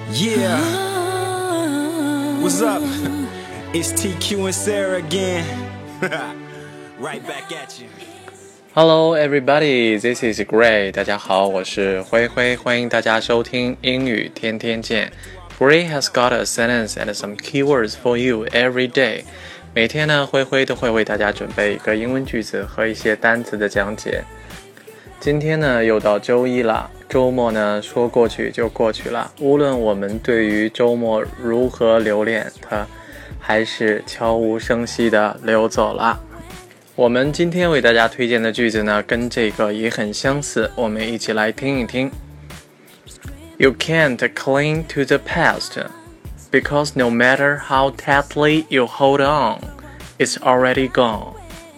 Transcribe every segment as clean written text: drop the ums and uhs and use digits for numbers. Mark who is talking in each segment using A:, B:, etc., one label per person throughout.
A: Yeah, what's up? It's TQ and Sarah again. Right back at you.
B: Hello everybody, this is Gray. 大家好，我是灰灰，欢迎大家收听英语天天见。Gray has got a sentence and some keywords for you every day. 每天呢，灰灰都会为大家准备一个英文句子和一些单词的讲解。今天呢，又到周一了，周末呢，说过去就过去了。无论我们对于周末如何留恋，它还是悄无声息地流走了。我们今天为大家推荐的句子呢，跟这个也很相似，我们一起来听一听。You can't cling to the past, because no matter how tightly you hold on, it's already gone.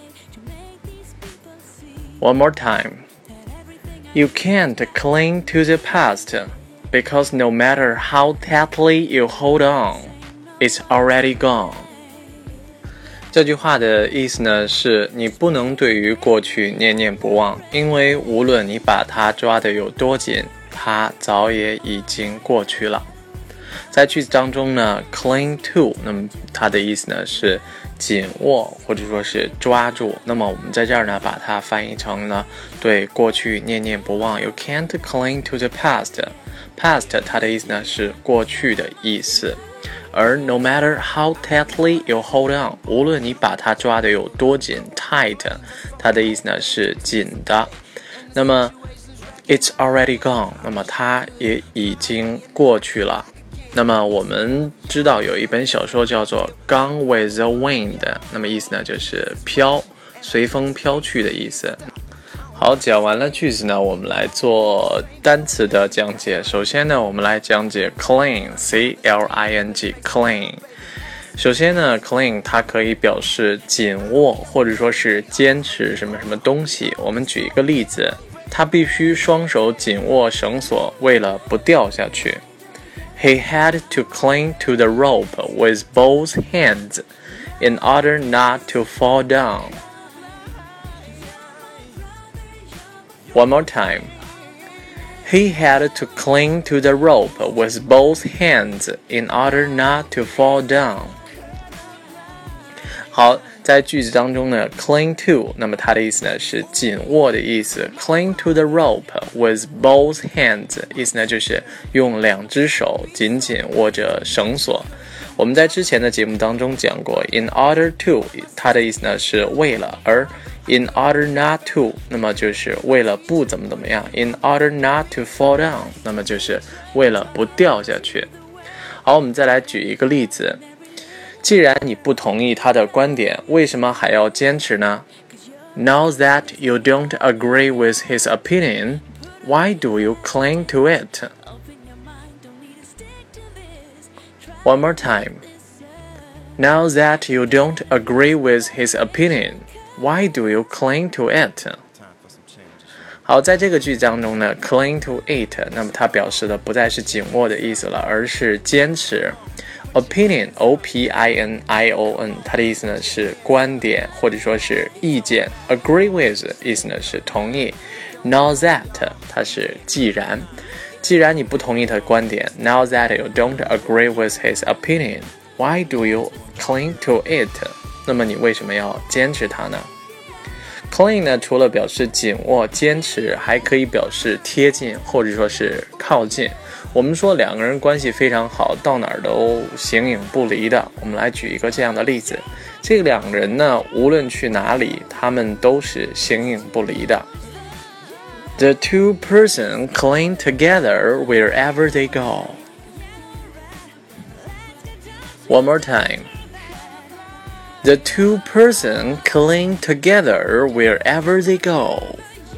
B: One more time. You can't cling to the past, because no matter how tightly you hold on, it's already gone. 这句话的意思呢，是你不能对于过去念念不忘，因为无论你把它抓得有多紧，它早也已经过去了。在句子当中呢 cling to 那么它的意思呢是紧握或者说是抓住，那么我们在这儿呢把它翻译成了对过去念念不忘。 You can't cling to the past. Past 它的意思呢是过去的意思，而 no matter how tightly you hold on 无论你把它抓得有多紧 tight 它的意思呢是紧的，那么 it's already gone 那么它也已经过去了。那么我们知道有一本小说叫做 Gone with the Wind， 那么意思呢就是飘，随风飘去的意思。好，讲完了句子呢，我们来做单词的讲解。首先呢，我们来讲解 cling C-L-I-N-G cling。首先呢 cling 它可以表示紧握或者说是坚持什么什么东西。我们举一个例子，他必须双手紧握绳索，为了不掉下去。He had to cling to the rope with both hands in order not to fall down. One more time. He had to cling to the rope with both hands in order not to fall down. 好，在句子当中呢 cling to 那么它的意思呢是紧握的意思。 cling to the rope with both hands 意思呢就是用两只手紧紧握着绳索。我们在之前的节目当中讲过 in order to 它的意思呢是为了，而 in order not to 那么就是为了不怎么样， in order not to fall down 那么就是为了不掉下去。好，我们再来举一个例子，既然你不同意他的观点，为什么还要坚持呢？ Now that you don't agree with his opinion, why do you cling to it? One more time. Now that you don't agree with his opinion, why do you cling to it? 好，在这个句子当中呢 cling to it 那么它表示的不再是紧握的意思了，而是坚持。Opinion O-P-I-N-I-O-N 它的意思呢是观点或者说是意见， agree with 意思呢是同意， Now that 它是既然你不同意他的观点， Now that you don't agree with his opinion, why do you cling to it? 那么你为什么要坚持它呢？ Cling 呢除了表示紧握坚持，还可以表示贴近或者说是靠近。我们说两个人关系非常好，到哪儿都形影不离的。我们来举一个这样的例子，这两个人呢无论去哪里，他们都是形影不离的。The two persons cling together wherever they go. One more time. The two persons cling together wherever they go.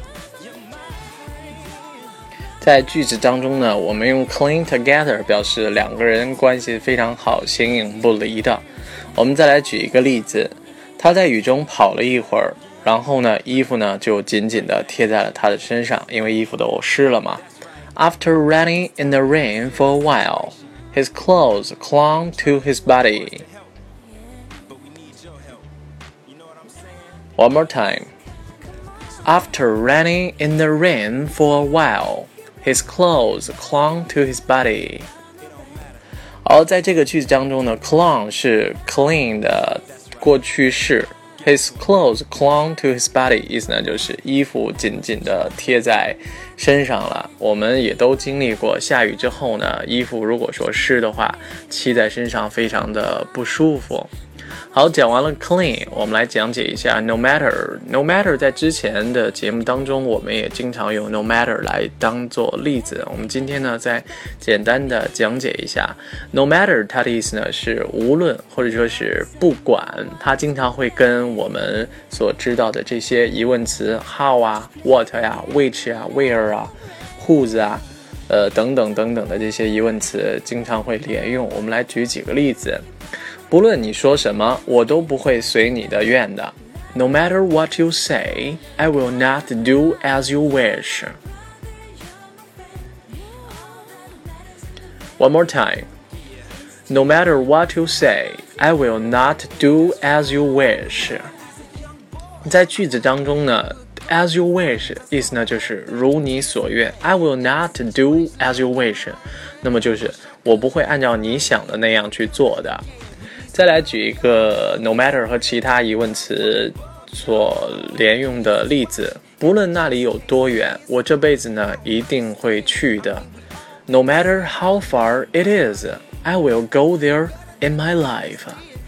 B: 在句子当中呢，我们用 cling together 表示两个人关系非常好，形影不离的。我们再来举一个例子，他在雨中跑了一会儿，然后呢，衣服呢就紧紧地贴在了他的身上，因为衣服都湿了嘛。After running in the rain for a while, his clothes clung to his body. One more time. After running in the rain for a while, his clothes clung to his body. 好，在这个句子当中呢 clung 是 clean 的过去式， His clothes clung to his body 意思呢就是衣服紧紧的贴在身上了。我们也都经历过下雨之后呢，衣服如果说湿的话，漆在身上非常的不舒服。好，讲完了 clean， 我们来讲解一下 no matter。 no matter 在之前的节目当中，我们也经常用 no matter 来当做例子。我们今天呢，再简单的讲解一下 no matter， 它的意思呢是无论或者说是不管，它经常会跟我们所知道的这些疑问词 how 啊 what 呀 which 啊 where 啊 whose 啊等等等等的这些疑问词经常会连用。我们来举几个例子。不论你说什么，我都不会随你的愿的。No matter what you say, I will not do as you wish. One more time. No matter what you say, I will not do as you wish. 在句子当中呢 as you wish 意思呢就是如你所愿。 I will not do as you wish 那么就是我不会按照你想的那样去做的。再来举一个 no matter 和其他疑问词所连用的例子。不论那里有多远，我这辈子呢一定会去的。 No matter how far it is, I will go there in my life.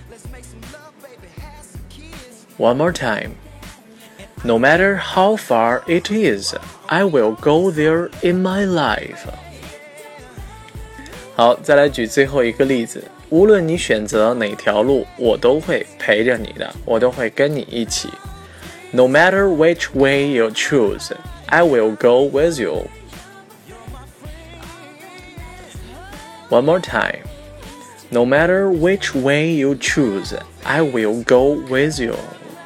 B: One more time. No matter how far it is, I will go there in my life. 好，再来举最后一个例子。无论你选择哪条路，我都会陪着你的，我都会跟你一起。No matter which way you choose, I will go with you. One more time. No matter which way you choose, I will go with you.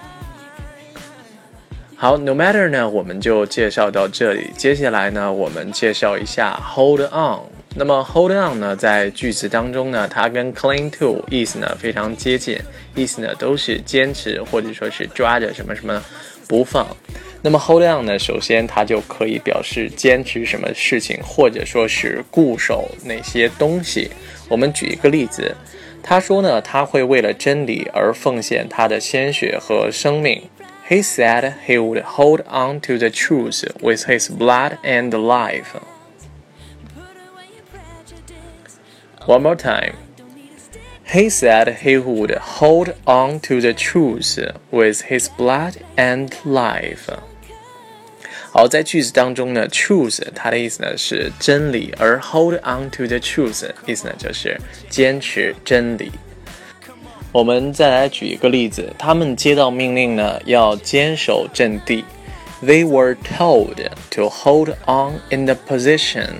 B: 好 no matter 呢我们就介绍到这里。接下来呢我们介绍一下 hold on。那么 hold on 呢在句子当中呢，它跟 cling to 意思呢非常接近，意思呢都是坚持或者说是抓着什么什么不放。那么 hold on 呢，首先它就可以表示坚持什么事情，或者说是固守哪些东西。我们举一个例子，他说呢他会为了真理而奉献他的鲜血和生命。He said he would hold on to the truth with his blood and life. One more time. He said he would hold on to the truth with his blood and life. 好，在句子当中呢 truth 它的意思呢是真理，而 hold on to the truth 意思呢就是坚持真理。我们再来举一个例子，他们接到命令呢要坚守阵地。They were told to hold on in the position.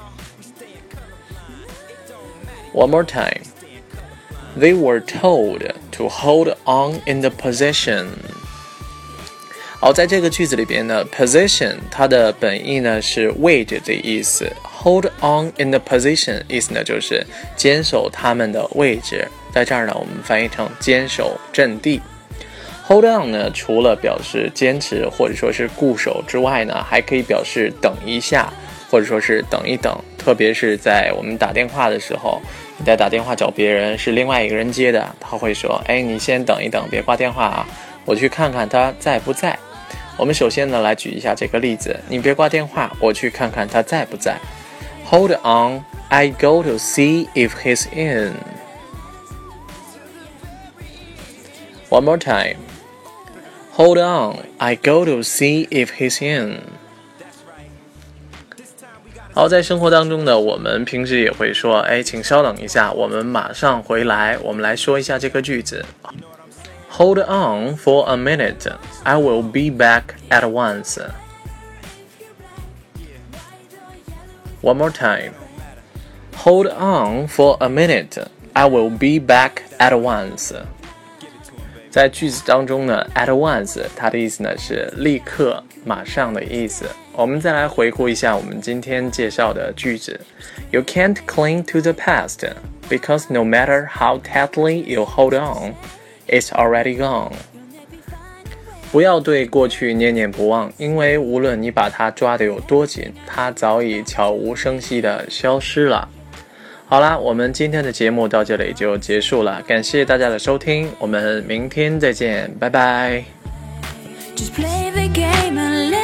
B: One more time. They were told to hold on in the position. 好，在这个句子里边呢 position 它的本意呢是位置的意思。Hold on in the position 意思呢就是坚守他们的位置。在这儿呢我们翻译成坚守阵地。Hold on 呢除了表示坚持或者说是固守之外呢，还可以表示等一下或者说是等一等。特别是在我们打电话的时候，你在打电话找别人，是另外一个人接的，他会说你先等一等，别挂电话啊，我去看看他在不在。我们首先呢来举一下这个例子，你别挂电话，我去看看他在不在。 Hold on, I go to see if he's in. One more time. Hold on, I go to see if he's in. 好，在生活当中呢，我们平时也会说请稍等一下，我们马上回来。我们来说一下这个句子。Hold on for a minute, I will be back at once. One more time. Hold on for a minute, I will be back at once. 在句子当中呢 at once 它的意思呢是立刻马上的意思。我们再来回顾一下我们今天介绍的句子。 You can't cling to the past because no matter how tightly you hold on, it's already gone. 不要对过去念念不忘，因为无论你把它抓得有多紧，它早已悄无声息地消失了。 好啦，我们今天的节目到这里就结束了，感谢大家的收听，我们明天再见，拜拜。
C: Just play the game and